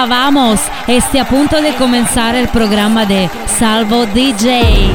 Hola, vamos. Este a punto de comenzar el programa de Salvo DJ.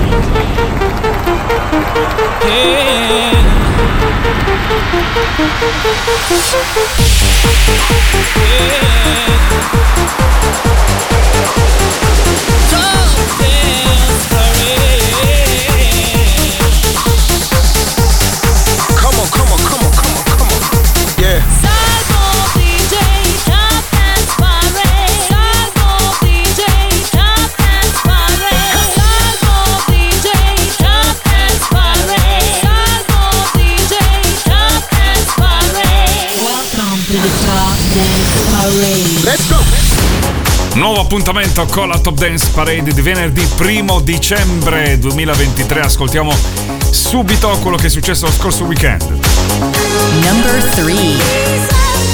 Nuovo appuntamento con la Top Dance Parade di venerdì 1 dicembre 2023. Ascoltiamo subito quello che è successo lo scorso weekend. Number 3.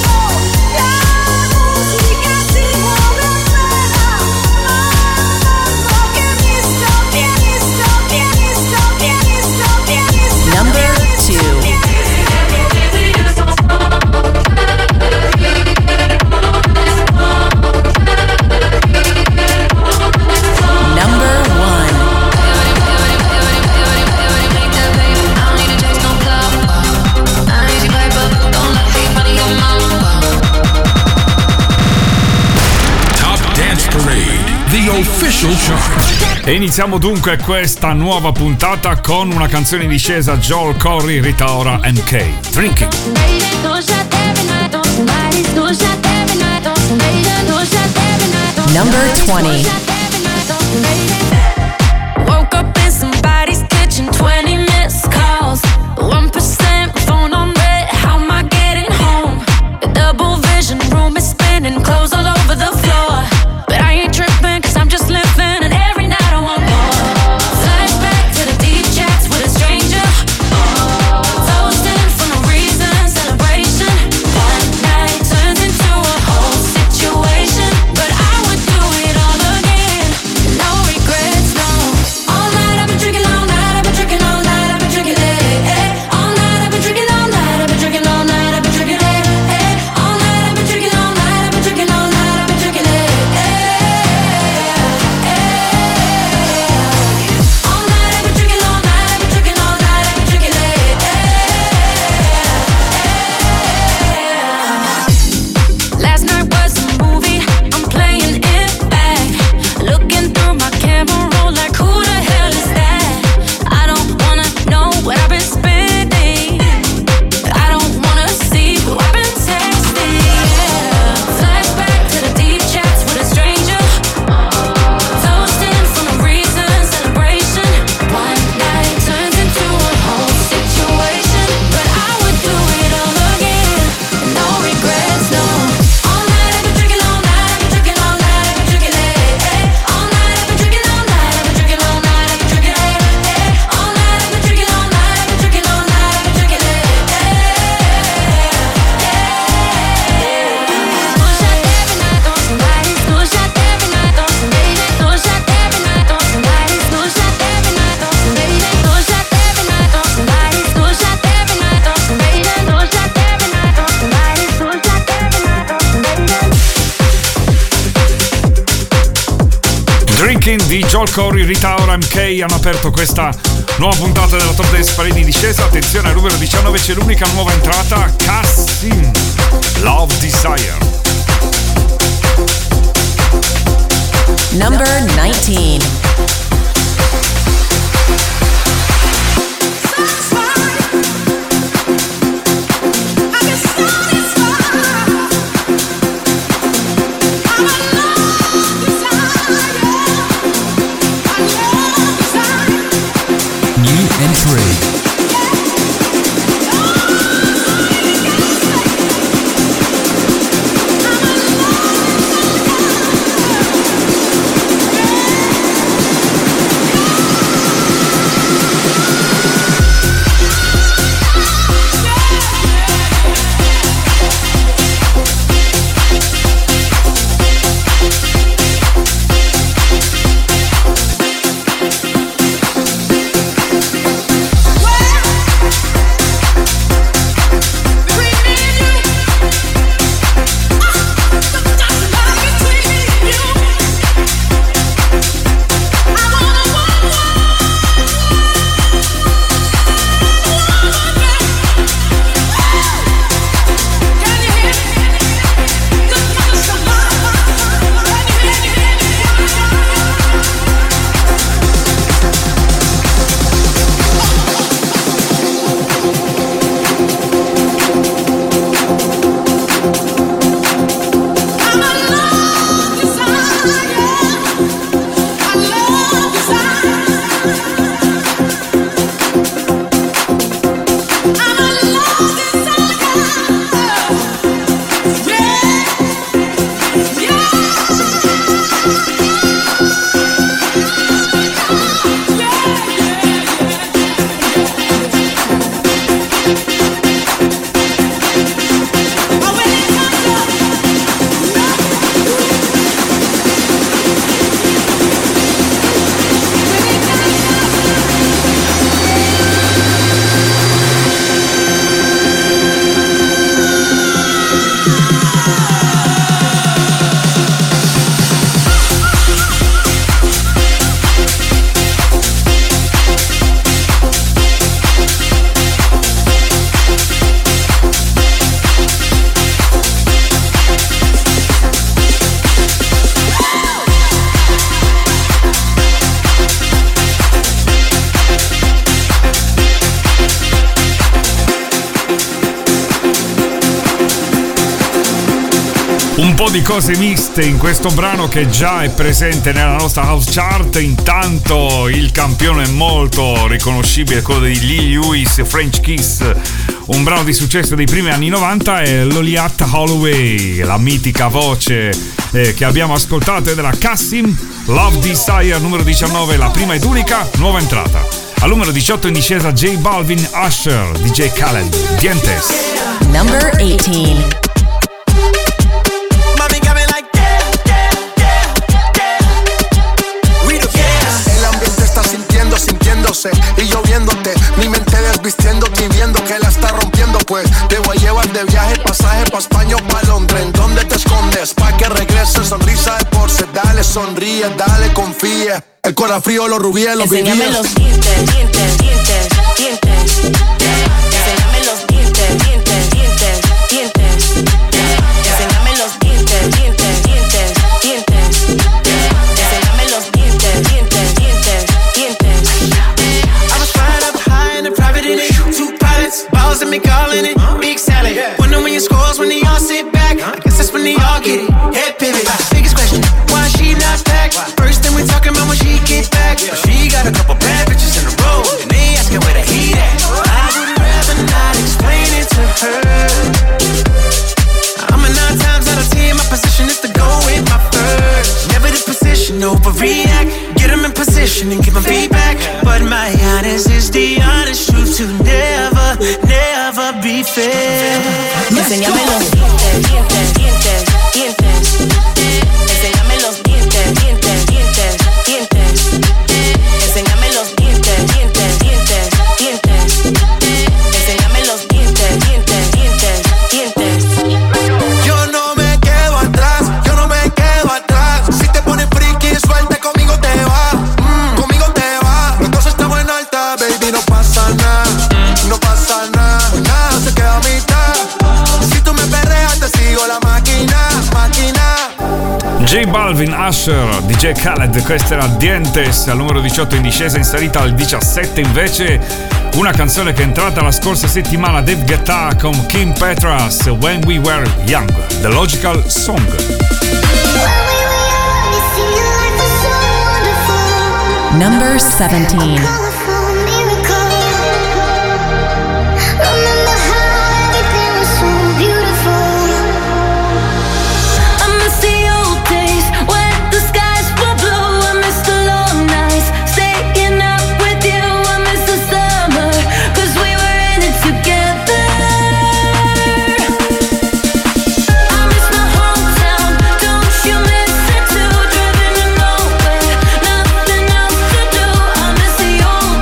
E iniziamo dunque questa nuova puntata con una canzone in discesa, Joel Corry, Rita Ora, MK, Drinking. Number 20. Woke up in somebody's kitchen, 20 missed calls, 1% phone on red, how am I getting home? The double vision room is spinning, clothes all over the floor, but I ain't tripping cause I'm just living and every night I want more. Flashback to the deep chats with a stranger, toasting for no reason, celebration. One night turns into a whole situation, but I would do it all again, no regrets, no. All night I've been drinking, all night I've been drinking, all night I've been drinking it. All night I've been drinking, all night I've been drinking, all night I've been drinking it. All night I've been drinking, all night I've been drinking, all night I've been drinking it. All night I've been drinking, all night I've been drinking, all night I've been drinking it. Last night was a movie, I'm playing it back, looking through my camera roll like who the hell is that? I don't wanna know what I've been spending, I don't wanna see who I've been texting. Flashback to the deep chats with a stranger, toasting for no reason, celebration. One night turns into a whole situation, but I would do it all again, no regrets, no. All night I've been drinking, all night I've been drinking, all night I've been drinking it. All night I've been drinking, all night I've been drinking, all night I've been drinking it. All night I've been drinking, all night I've been drinking, all night I've been drinking it. Two shot every night on somebody's, two shot every night on somebody's, two shot every night on somebody's, two shot every night on somebody's, two shot every night on somebody's, two shot every night on somebody's, two shot every night on somebody's, two shot every night on somebody's. Drinking di Joel Corry, Rita Ora, MK hanno aperto questa nuova puntata della Top Dance Parade in discesa. Attenzione, al numero 19 c'è l'unica nuova entrata, Cassim, Love Desire. Number 19. New entry. Un po' di cose miste in questo brano che già è presente nella nostra house chart. Intanto il campione molto riconoscibile, quello di Lee Lewis, French Kiss, un brano di successo dei primi anni 90, è Loliat Holloway, la mitica voce che abbiamo ascoltato è della Cassim, Love Desire numero 19, la prima ed unica nuova entrata. Al numero 18 in discesa J Balvin, Usher, DJ Khaled, Dientes. Number 18. Sintiéndose y yo viéndote, mi mente desvistiéndote y viendo que la está rompiendo, pues te voy a llevar de viaje, pasaje pa' España o pa' Londres. ¿En dónde te escondes? Pa' que regreses, sonrisa de porce, dale, sonríe, dale, confía. El corazón frío, los rubíes, los vivíes. Enséñame los dientes, dientes, dientes, dientes. Enséñame los dientes, dientes, dientes, dientes. Enséñame los dientes, dientes, dientes, dientes. Enséñame los dientes, dientes, dientes, dientes. I was flying up high in a private in it. Two pilots, balls and me calling it. Big salad. Wonder when your scores when they all sit back. I guess that's when they all get it. Head pivot. Biggest question, why she not back? First thing we talking about when she get back. She got a couple bad bitches in a row, and they asking where the heat at. I would rather not explain it to her. I'm a 9 times out of 10, my position is to go with my first. Never the position, overreact. Get them in position and give them feedback. But my honest is the honest truth to never, never be fair. Enséñame los dientes, dientes, dientes, dientes. Enséñame los dientes, dientes, dientes, dientes. Enséñame los dientes, dientes, dientes, dientes. Enséñame los dientes, dientes, dientes, dientes. Yo no me quedo atrás, yo no me quedo atrás. Si te pones friki, suelta, conmigo te va, conmigo te va. Los dos estamos en alta, baby, no pasa nada, no pasa nada, nada se queda a mitad. Si tú me perreas, te sigo la máquina, máquina. J Balvin, Usher, DJ Khaled, questa era Dientes, al numero 18 in discesa, in salita al 17 invece una canzone che è entrata la scorsa settimana, Dave Guetta con Kim Petras, When We Were Young, The Logical Song. Number 17. Old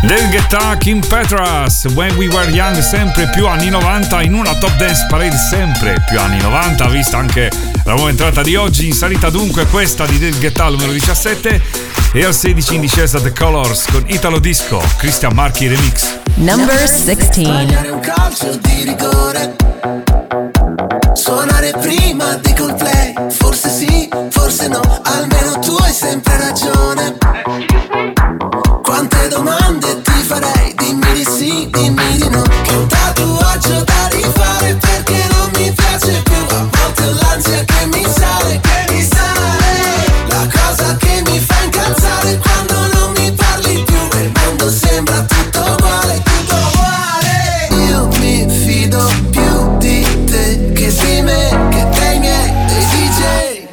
David Guetta, Kim Petras, When We Were Young, sempre più anni 90 in una Top Dance Parade sempre più anni 90, vista anche la nuova entrata di oggi. In salita dunque questa di David Guetta al numero 17 e al 16 in discesa The Colors con Italo Disco, Christian Marchi Remix. Number 16. Sbagliare un calcio di rigore, suonare prima di Coldplay, forse sì, forse no, almeno tu hai sempre ragione. Quante domande ti farei, dimmi di sì, dimmi di no. Che un tatuaggio da rifare perché non mi piace più. A volte ho l'ansia che mi sale, la cosa che mi fa incazzare quando non mi parli più e il mondo sembra tutto uguale, tutto uguale. Io mi fido più di te che di me, che dei miei, dei DJ.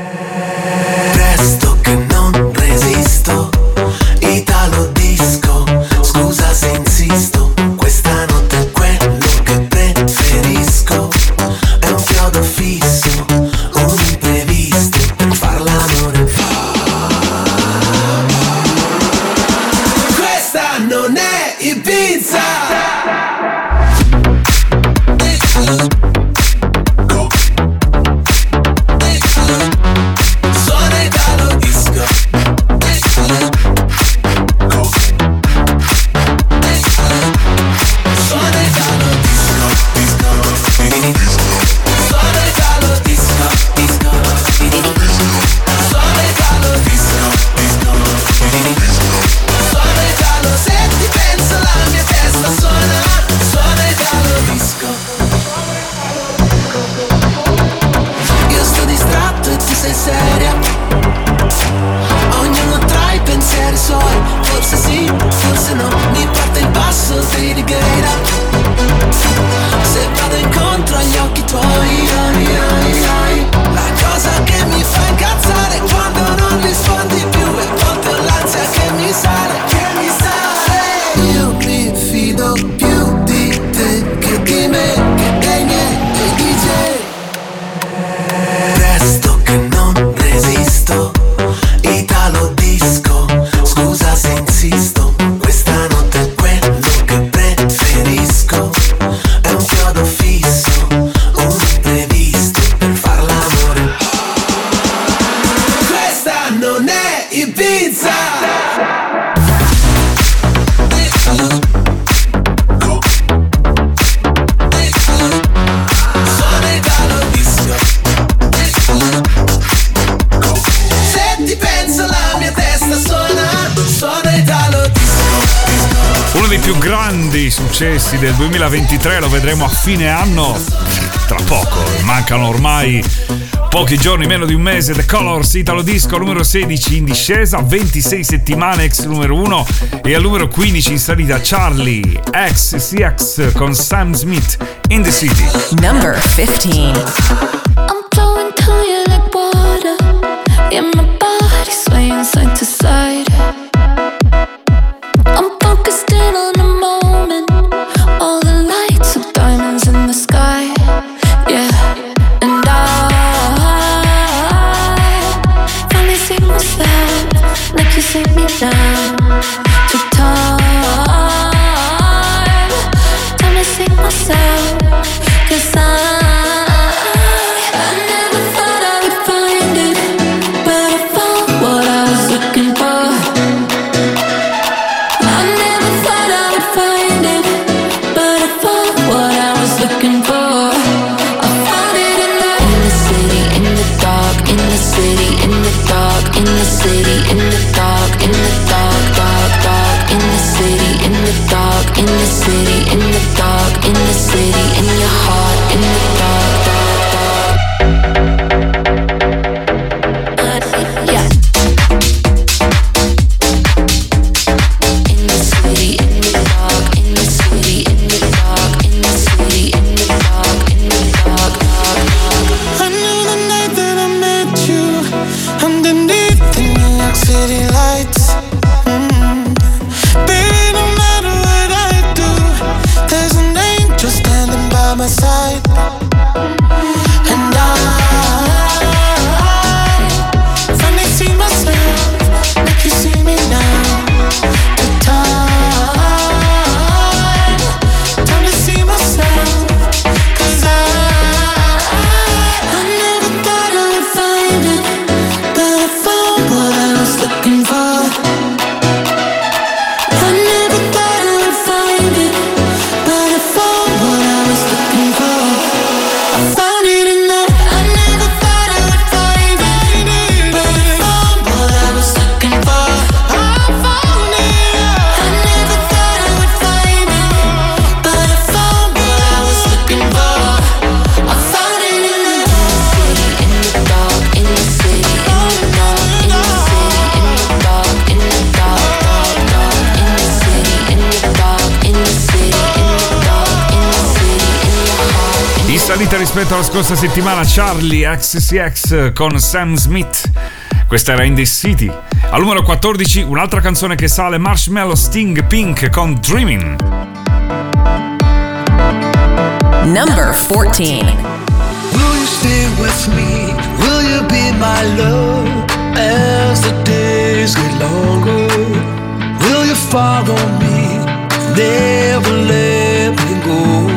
Presto che non resisto, Italo Disco, scusa se insisto, questa notte è quello che preferisco. È un chiodo fisso, un imprevisto, per far l'amore. Questa non è Ibiza. Suona Italo Disco. Suona Italo Disco, disco, suona Italo Disco, disco, suona Italo Disco, disco, suona Italo. Se ti penso la mia testa suona Italo Disco. Io sto distratto e tu sei seria, ognuno tra i pensieri suoi, forse sì, forse no, mi parte il passo di Righeira. Se vado incontro agli occhi tuoi, la cosa che mi fa incazzare quando non rispondi più e a volte ho l'ansia che mi sale, Io mi fido più di te che di me, che dei miei, dei DJ. Presto che non resisto, Italo Disco, scusa se insisto, questa notte è quello che preferisco. È un chiodo fisso, un imprevisto, per far l'amore. Questa non è Ibiza. Suona Italo Disco. Se ti penso la mia testa suona Italo Disco. Uno dei più grandi successi del 2023 lo vedremo a fine anno, tra poco, mancano ormai pochi giorni, meno di un mese. The Colors, Italo Disco, numero 16 in discesa, 26 settimane, ex numero 1, e al numero 15 in salita Charlie XCX con Sam Smith, In the City. Number 15. I'm flowing to you like water. Yeah, my body swaying side to side. I'm focused in on the moment. All the lights are diamonds in the sky. Yeah, and I finally see myself like you see me now. Took time to see myself, 'cause I never thought I would find it, but I found what I was looking for. I never thought I would find it, but I found what I was looking for. I found it in the city, in the dark, in the city, in the dark, in the city, in the dark, in the dark, dark, dark. salita rispetto alla scorsa settimana Charlie XCX con Sam Smith. Questa era In The City. Al numero 14 un'altra canzone che sale, Marshmello Sting Pink con Dreaming. Number 14. Will you stay with me? Will you be my love as the days get longer? Will you follow me? Never let me go.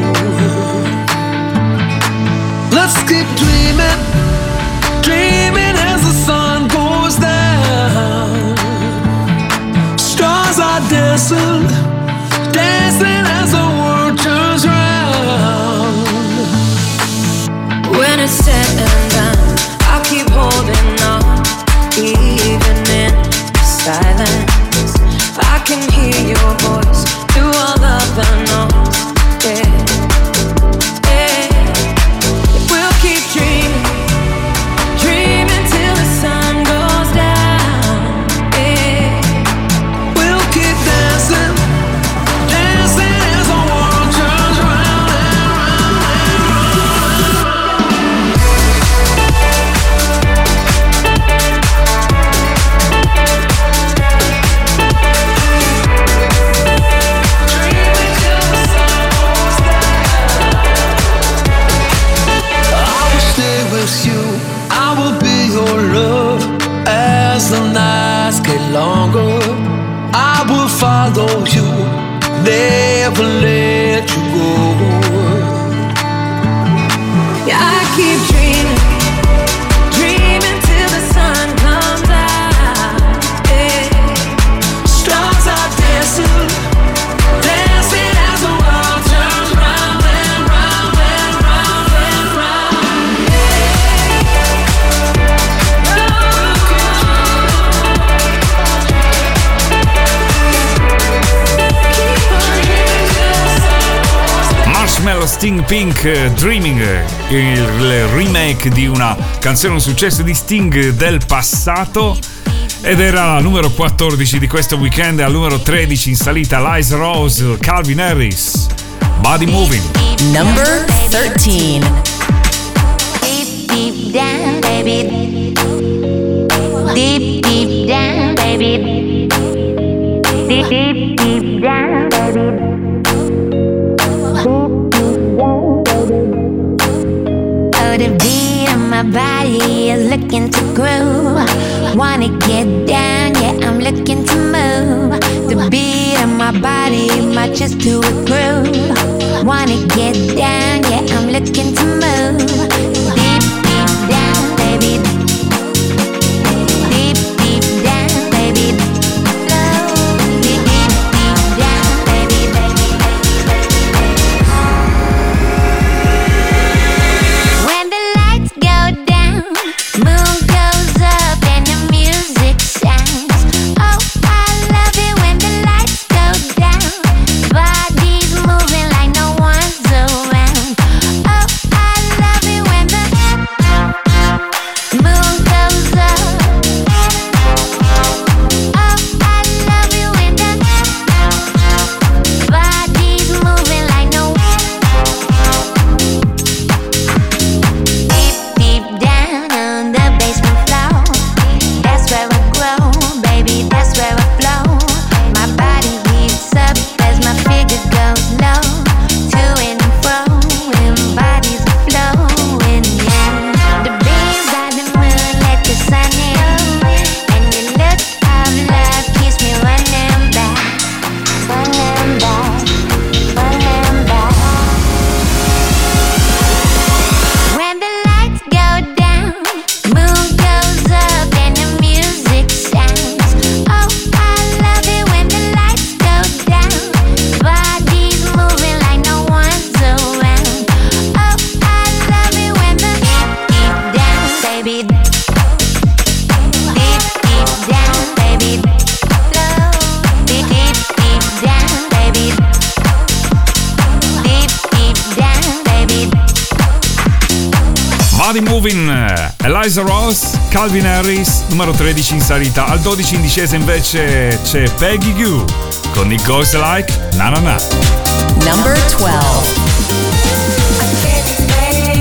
Let's keep dreaming, dreaming as the sun goes down. Stars are dancing, dancing as the world turns round. When it's said and done, I'll keep holding on, even in silence. I can hear your voice through all of the noise. Yeah. We'll keep dreaming, dreaming till the sun goes down. Yeah. We'll keep dancing, dancing as the world turns round and longer. I will follow you, never let you go. Yeah, I keep dreaming, dreaming till the sun comes out. Yeah. Stars are dancing, dancing as the world turns round and round and round and round. Marshmello Sting Pink, Dreaming, il remake di una canzone, un successo di Sting del passato, ed era la numero 14 di questo weekend. Al numero 13 in salita Liza Rose, Calvin Harris, Body Moving. Number 13. Deep, deep down, baby. Deep, deep down, baby. Deep, deep, deep down, baby. Oh, the beat of my body is looking to groove. Wanna get down, yeah, I'm looking to move. The beat of my body matches to a groove. Wanna get down, yeah, I'm looking to move. Deep, deep down, baby. Deep, deep down, baby. Deep, deep, deep down, baby, baby, baby. When the lights go down, moon goes up and the music sounds. Oh, I love it when the lights go down. Bodies moving like no one's around. Oh, I love it when the moon goes up. Oh, I love it when the bodies moving like no deep, deep down on the basement floor. That's where I grow, baby, that's where I flow. My body heats up as my figure goes low. To and fro, and bodies are flowing, yeah. The beams by the moon let the sun in, and the look of love keeps me running back, running back, running back. When the lights go down, moon goes up and the music sounds. Oh, I love it when the lights go down. Bodies moving like no one's around. Oh, I love it when the deep, deep down, baby. Deep, deep down, baby. Low. Deep, deep, deep down, baby. Deep, deep down, baby. Body Moving, Liza Rose, Calvin Harris, numero 13 in salita. Al 12 in discesa invece c'è Peggy Gou con It Goes Like Na Na Na. Number 12. I can't explain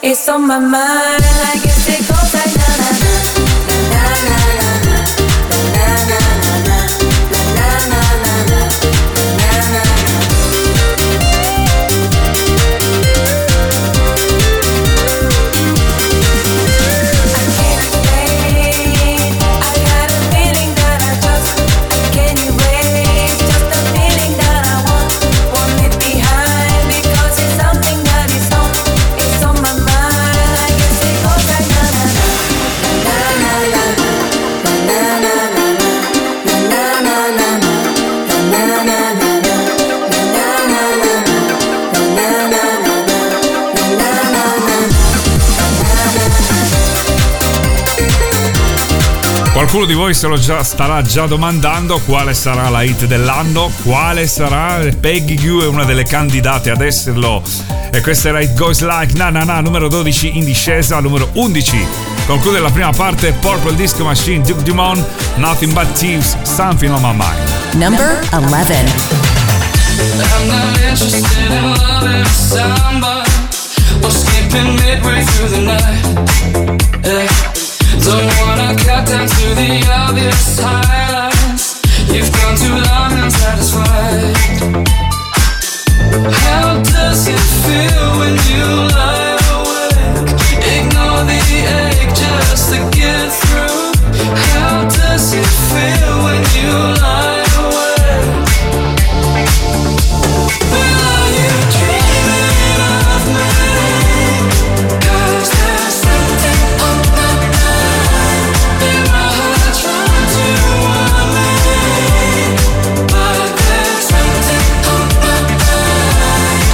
It's on my mind. I guess it goes like na na na na na na na na na na na na. Qualcuno di voi starà già domandando quale sarà la hit dell'anno, quale sarà. Peggy Gue è una delle candidate ad esserlo, e questa era It Goes Like Na Na Na, numero 12 in discesa. Numero 11 conclude la prima parte Purple Disco Machine, Duke Dumont, Nothing But Thieves, Something on My Mind. Number 11. I'm not interested in loving somebody or skipping midway through the night. Yeah. Don't wanna cut down to the obvious highlights. You've gone too long unsatisfied. How does it feel when you lie awake? Ignore the ache just to get through. How does it feel when you lie awake? Well, are you dreaming of me? 'Cause there's something on my mind. In my heart trying to warn me, but there's something on my mind.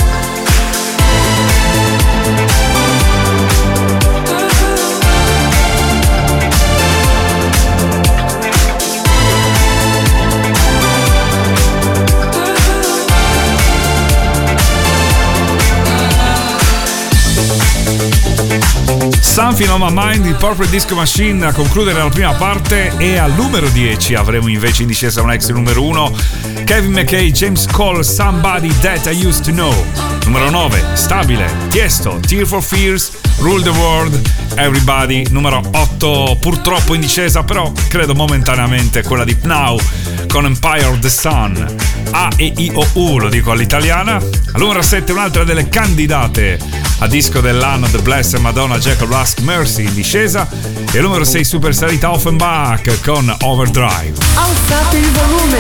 Something on My Mind di Purple Disco Machine a concludere la prima parte, e al numero 10 avremo invece in discesa un ex numero 1, Kevin McKay, James Cole, Somebody That I Used to Know. Numero 9, stabile, Tiesto, Tear for Fears, Rule the World, Everybody. Numero 8, purtroppo in discesa, però credo momentaneamente, quella di Pnau con Empire of the Sun. A e I O U, lo dico all'italiana. Al numero 7 un'altra delle candidate a disco dell'anno, The Blessed Madonna Jacob Ask Mercy in discesa, e al numero 6 super salita Offenbach con Overdrive. Alzate il volume.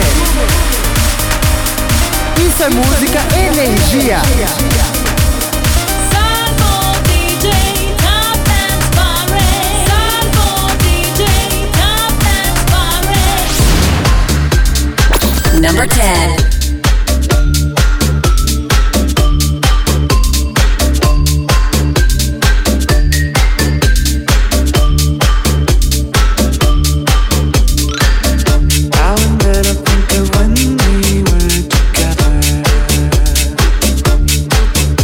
Isso è musica energia. Salvo DJ, Top and Sparre. Salvo DJ, Top and Sparre. Number 10. When we were together,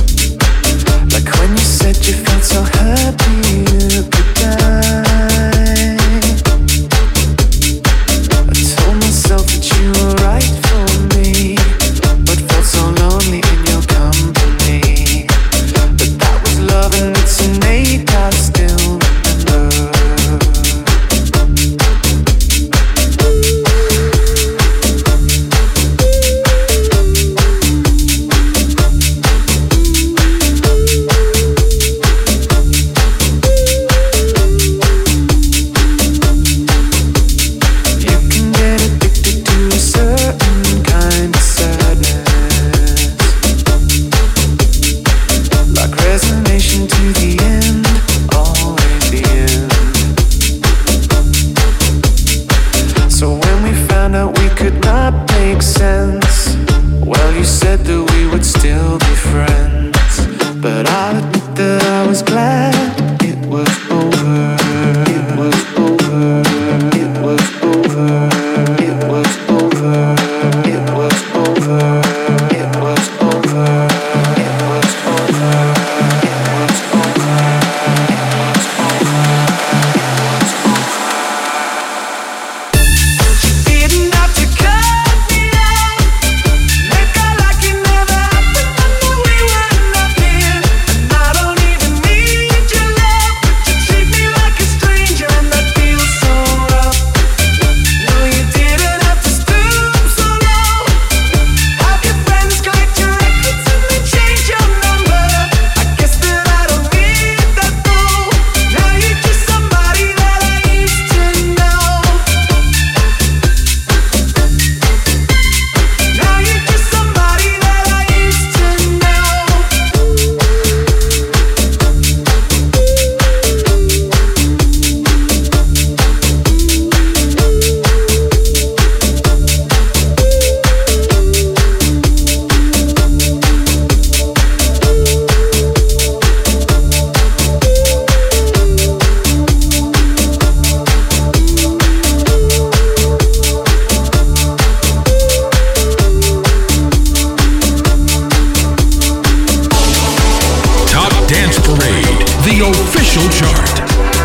the official chart.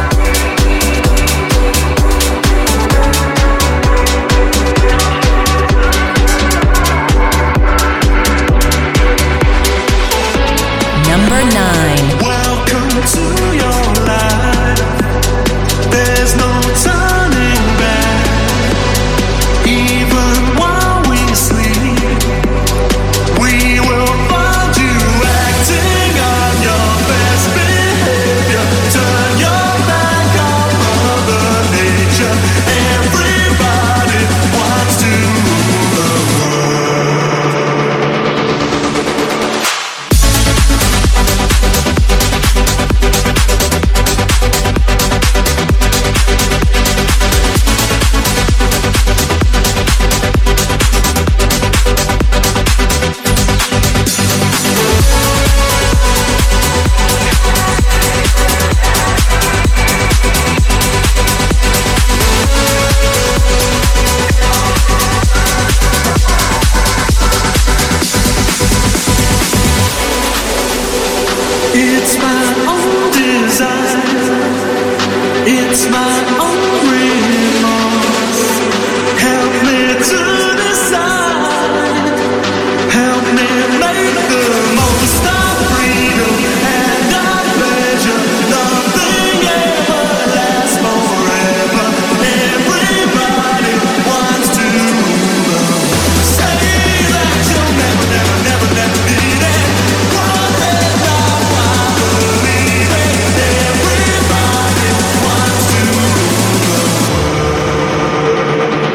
Number 9. Welcome to your life. There's no turning back. Even while we sleep, we will find you acting on your best behavior. Turn your back on Mother Nature. Everybody wants to rule the world. It's my own desire. It's my own remorse. Help me to decide. Help me make the most of freedom and of pleasure. Nothing ever lasts forever. Everybody wants to rule the world. Say that you'll never, never, never, never need it. One day now I believe it. Everybody wants to rule the world.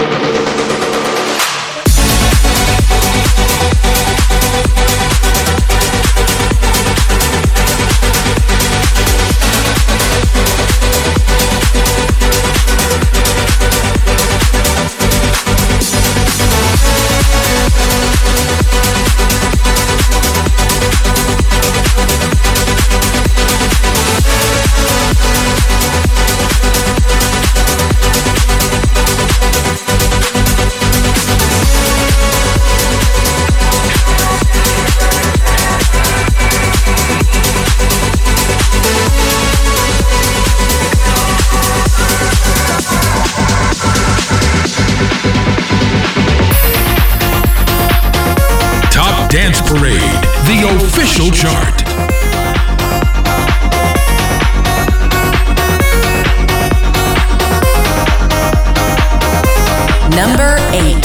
Top Dance Parade, the official chart. Number 8.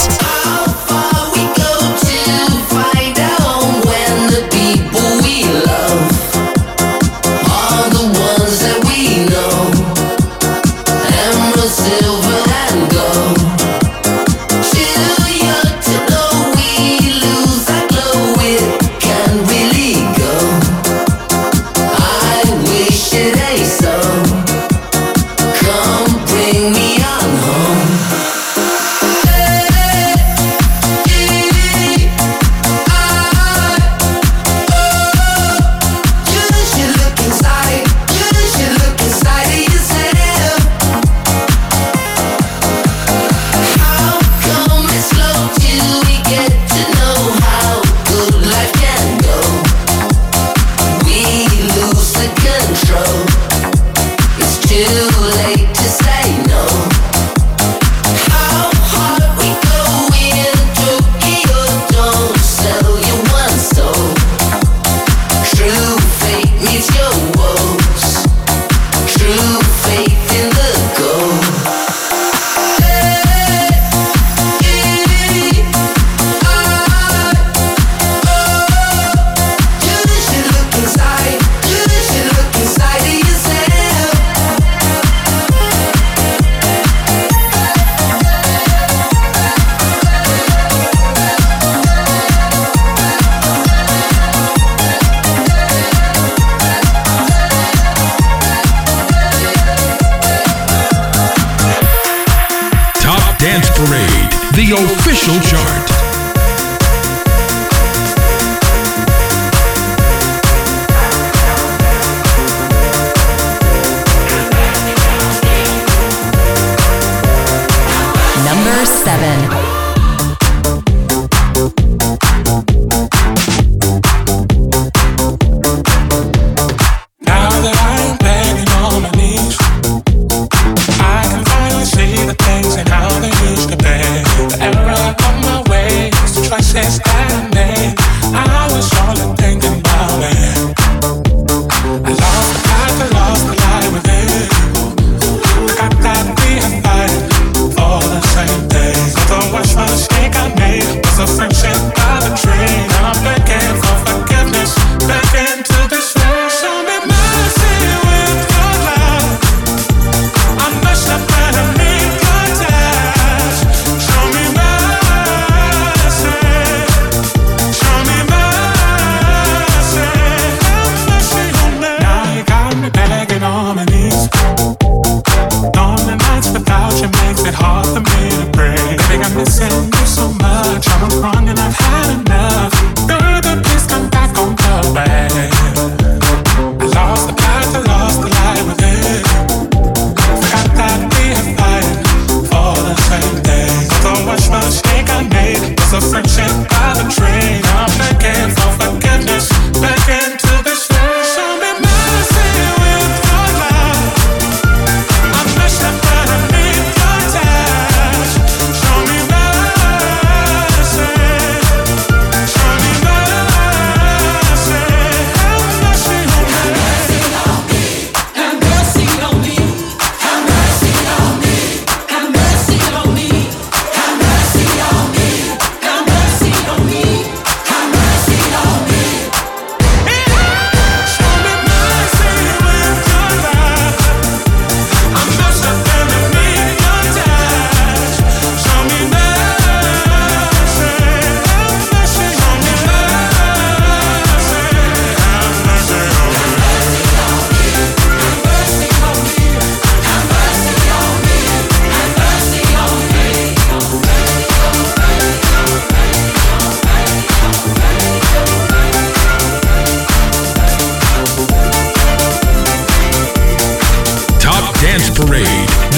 the official chart. Number 7. Now that I'm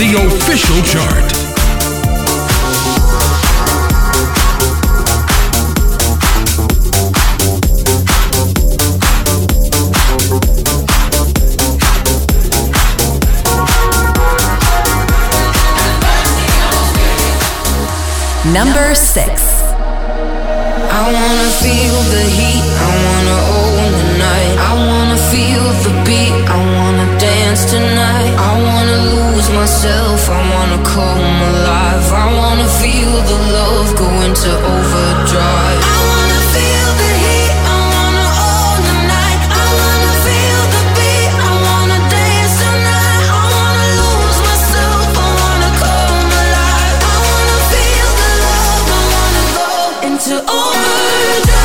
the official chart. Number 6. I wanna feel the heat, I wanna own the night. I wanna feel the beat, I wanna dance tonight. I wanna lose myself, I wanna come alive. I wanna feel the love go into overdrive. I wanna feel the heat, I wanna own the night. I wanna feel the beat, I wanna dance tonight. I wanna lose myself, I wanna come alive. I wanna feel the love, I wanna go into overdrive.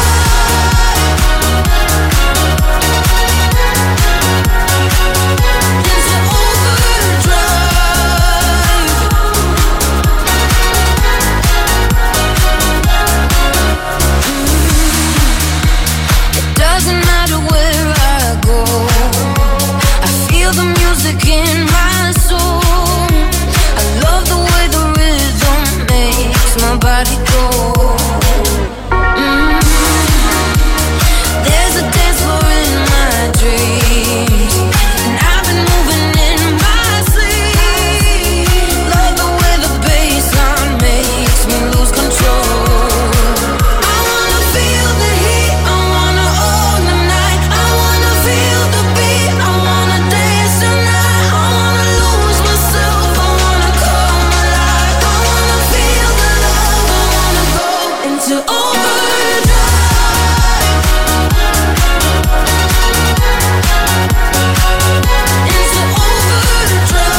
Doesn't matter where I go, I feel the music in my soul. I love the way the rhythm makes my body go. There's a dance floor in my dreams, and I've been moving in my sleep. Love the way the bassline makes me lose control. I wanna feel the heat, I wanna own the night. I wanna feel the beat, I wanna dance tonight. I wanna lose myself, I wanna come alive. I wanna feel the love, I wanna go into overdrive. Into overdrive.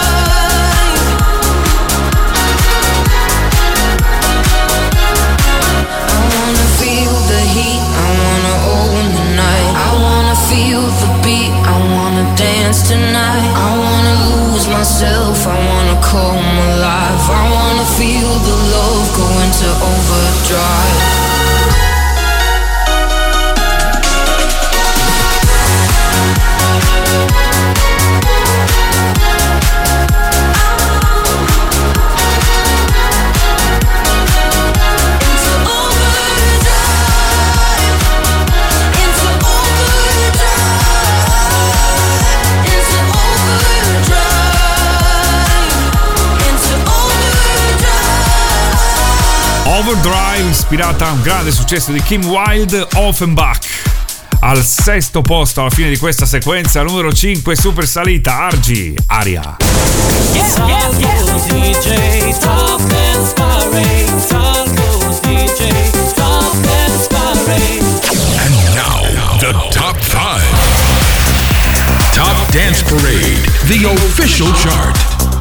I wanna feel the heat, I wanna own the night. I wanna feel the beat, I wanna dance tonight. I wanna lose myself, I wanna come alive. I wanna feel the love go into overdrive. Into overdrive. Into overdrive. Into overdrive. Into overdrive. Overdrive, ispirata a un grande successo di Kim Wilde, Offenbach. Al sesto posto alla fine di questa sequenza, numero 5, super salita, Argy, Aria. DJ, top dance parade. Salgo's DJ, top dance parade. And now, the top 5. Top Dance Parade, the official chart.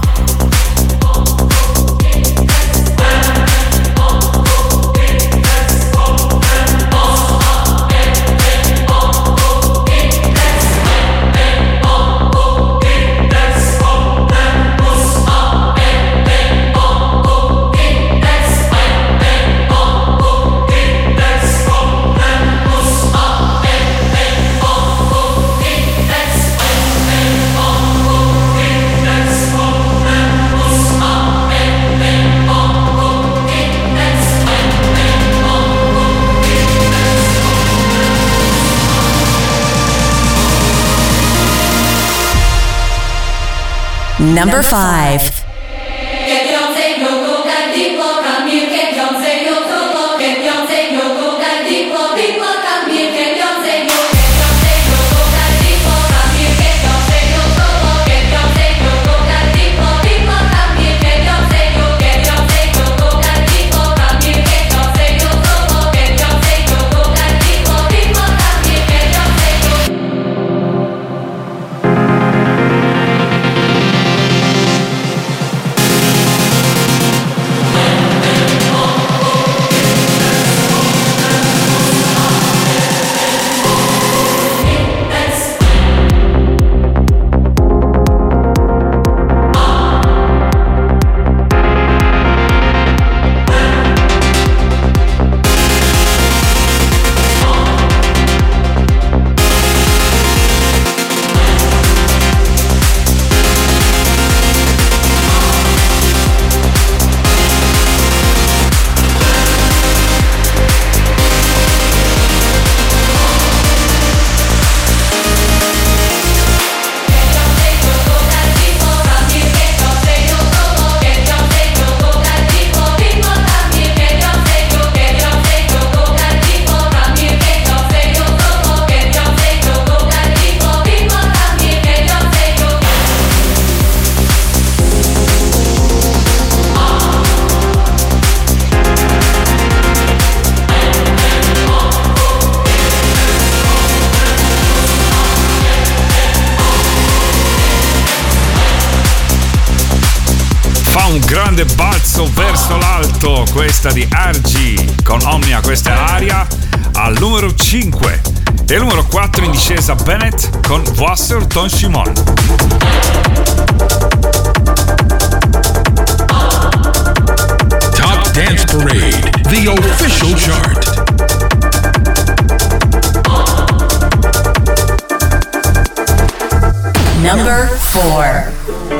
Number 5. un grande balzo verso l'alto, questa di RG con Omnia, questa è Aria al numero 5. E il numero 4 in discesa Bennett con Wasser Ton Shimon. Top Dance Parade, the official chart. Number 4.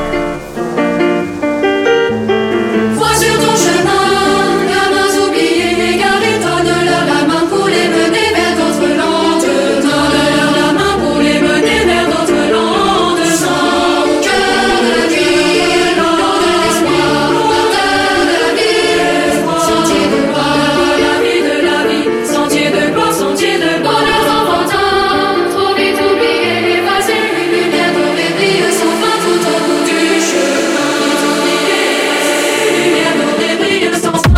Vois sur ton chemin, gamins oubliés, égarés, donne-leur la main pour les mener vers d'autres landes. Donne-leur la main pour les mener vers d'autres landes. Sans cœur de vie, l'eau de l'espoir, porteur de la vie, sentier de gloire, la vie de la vie, sentier de gloire, sentier de bonheur enfantin, trop vite oublié, effacé, une lumière dorée brille sans fin tout au bout du chemin. Lumière dorée brille sans fin.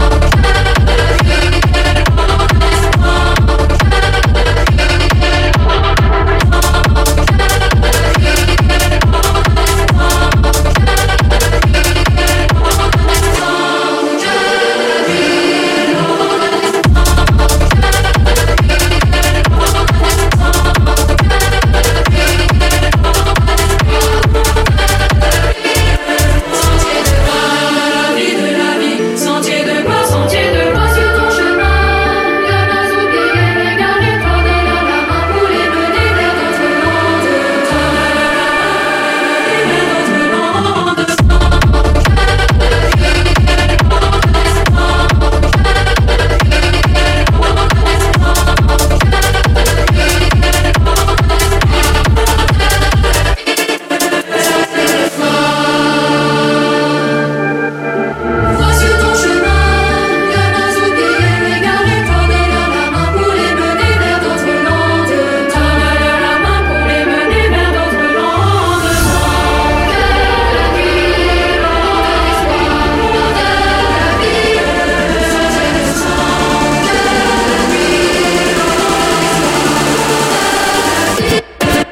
La vie de la vie, sentier de gloire, sentier de gloire sur ton chemin. Gamins oubliés, égarés, donne-leur la main pour les mener vers d'autres landes. Donne-leur la main vers d'autres landes. Vois sur ton chemin, gamins oubliés, égarés, donne-leur la main pour les mener vers d'autres landes. Donne-leur la main pour les mener vers d'autres landes. Sans cœur de vie, l'eau de l'espoir, porteur de la vie, sentier de sang. Cœur de vie, l'eau de l'espoir,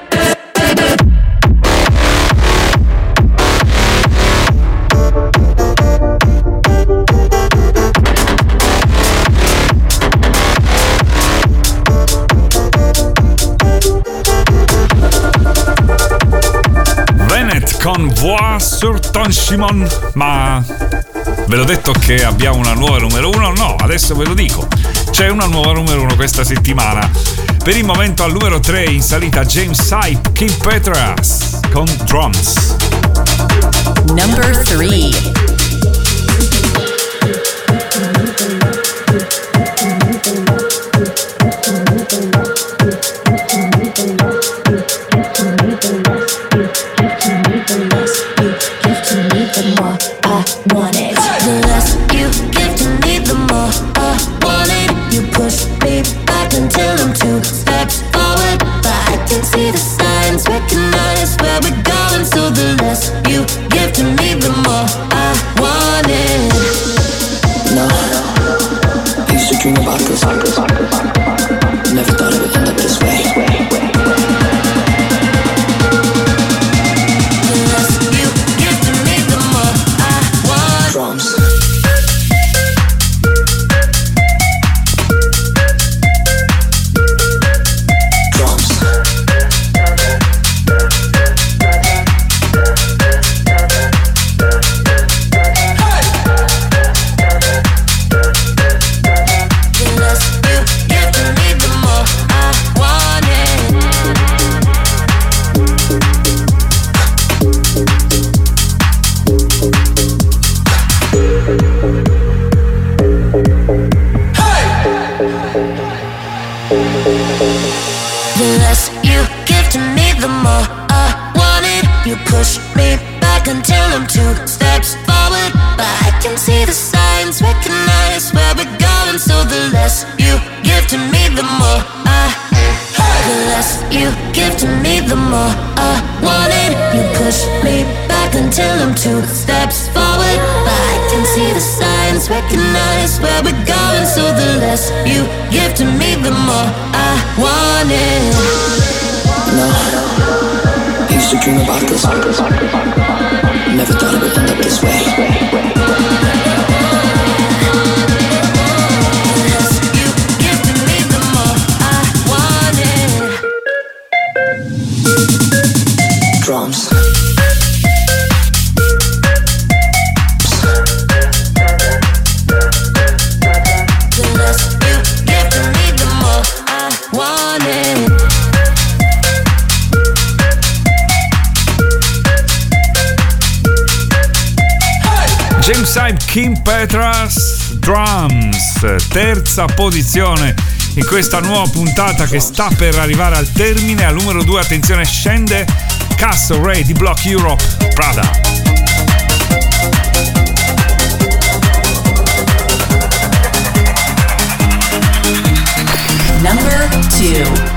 Bennett con Voix sur Ton Shimon. Ma ve l'ho detto che abbiamo una nuova numero 1? No, adesso ve lo dico. C'è una nuova numero 1 questa settimana. Per il momento al numero 3 in salita James Hype, Kim Petras con Drums. Number 3. The less you give to me, the more I want it. You push me back until I'm 2 steps forward, but I can see the signs, recognize where we're going. So the less you give to me, the more I want it. No, I used to dream about this. Never thought it would end up this way. The less you give to me, the more I want. Drums. The less you give to me, the more I want it. The less you give to me, the more I want it. You push me back until I'm 2 steps forward, but I can see the signs, recognize where we're going. So the less you give to me, the more the less you give to me, the more I want it. You push me back until I'm 2 steps forward, but I can see the signs, recognize where we're going. So the less you give to me, the more I want it. No, I used to dream about this. Never thought it would end up this way. Drums. James Hype, Kim Petras, Drums, terza posizione in questa nuova puntata che sta per arrivare al termine. Al numero 2, attenzione, scende Castle Ray di Block Europe, Prada. Number 2.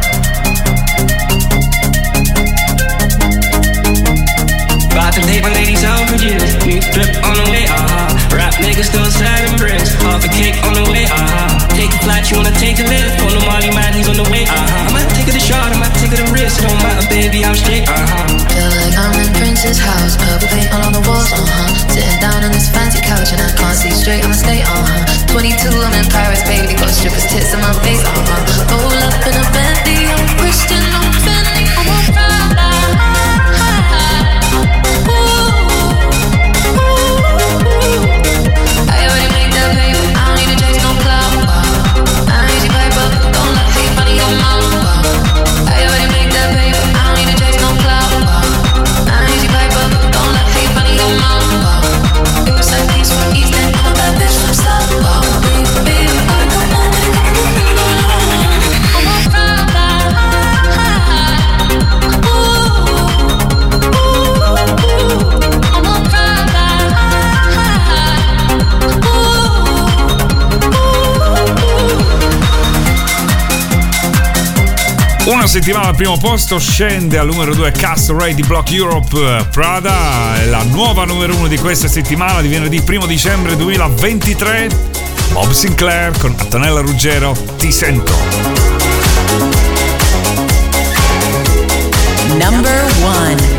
About to take my ladies out for years. New drip on the way, Rap niggas still sad and bricks. Half a cake on the way, Take a flight, you wanna take a lift. On the Molly man, he's on the way, I might take it a shot, I might take it a risk. Don't matter, baby, I'm straight, Feel like I'm in Prince's house. Purple paint all on the walls, Sitting down on this fancy couch and I can't see straight, I'ma stay, 22, I'm in Paris, baby. Got strippers' tits in my face, Roll up in a Bentley, I'm Christian, I'm Fendi, I'm a Prada. I already made that paper, I don't need to chase no clout. I ain't easy paper, don't let hate money go mouth. I already made that paper, I don't need to chase no clout. I ain't easy paper, don't let hate money go mouth. It was like peace from East End, I'm a bad bitch from South. Baby, I don't know. I'm a Prada. Una settimana al primo posto, scende al numero 2 Castle Ray di Block Europe, Prada. È la nuova numero 1 di questa settimana di venerdì 1 dicembre 2023. Bob Sinclair con Antonella Ruggero, Ti sento. Number 1.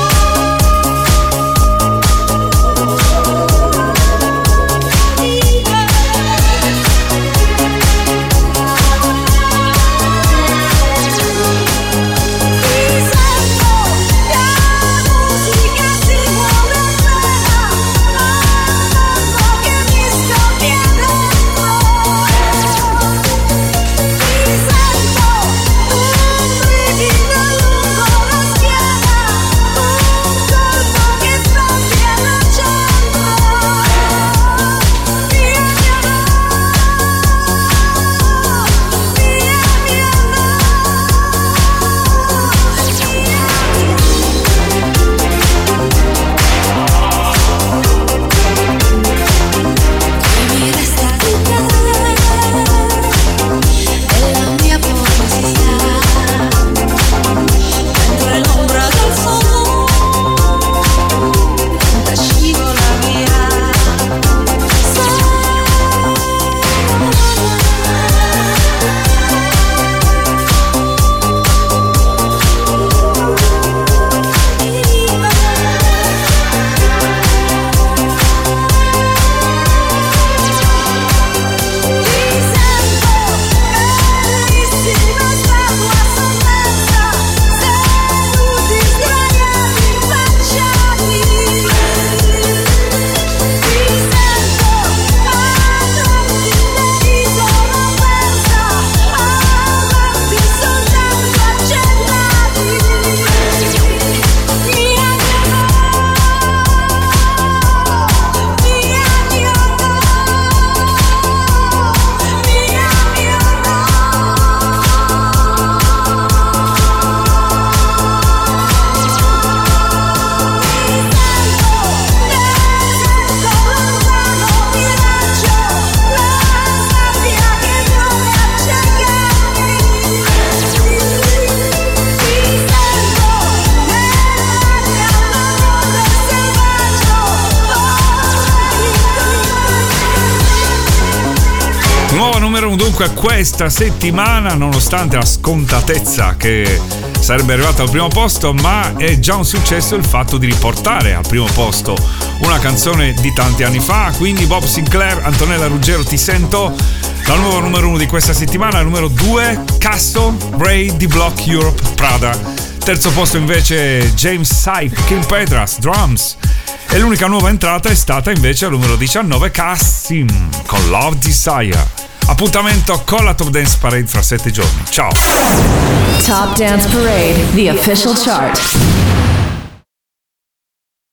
Bye. numero 1 dunque questa settimana, nonostante la scontatezza che sarebbe arrivata al primo posto, ma è già un successo il fatto di riportare al primo posto una canzone di tanti anni fa. Quindi Bob Sinclair, Antonella Ruggero, Ti sento. Dal nuovo numero 1 di questa settimana, al numero 2, Castle, Ray di Block Europe, Prada. Terzo posto invece James Sype, Kim Petras, Drums. E l'unica nuova entrata è stata invece al numero 19, Cassim con Love Desire. Appuntamento con la Top Dance Parade fra 7 giorni. Ciao! Top Dance Parade, the official chart.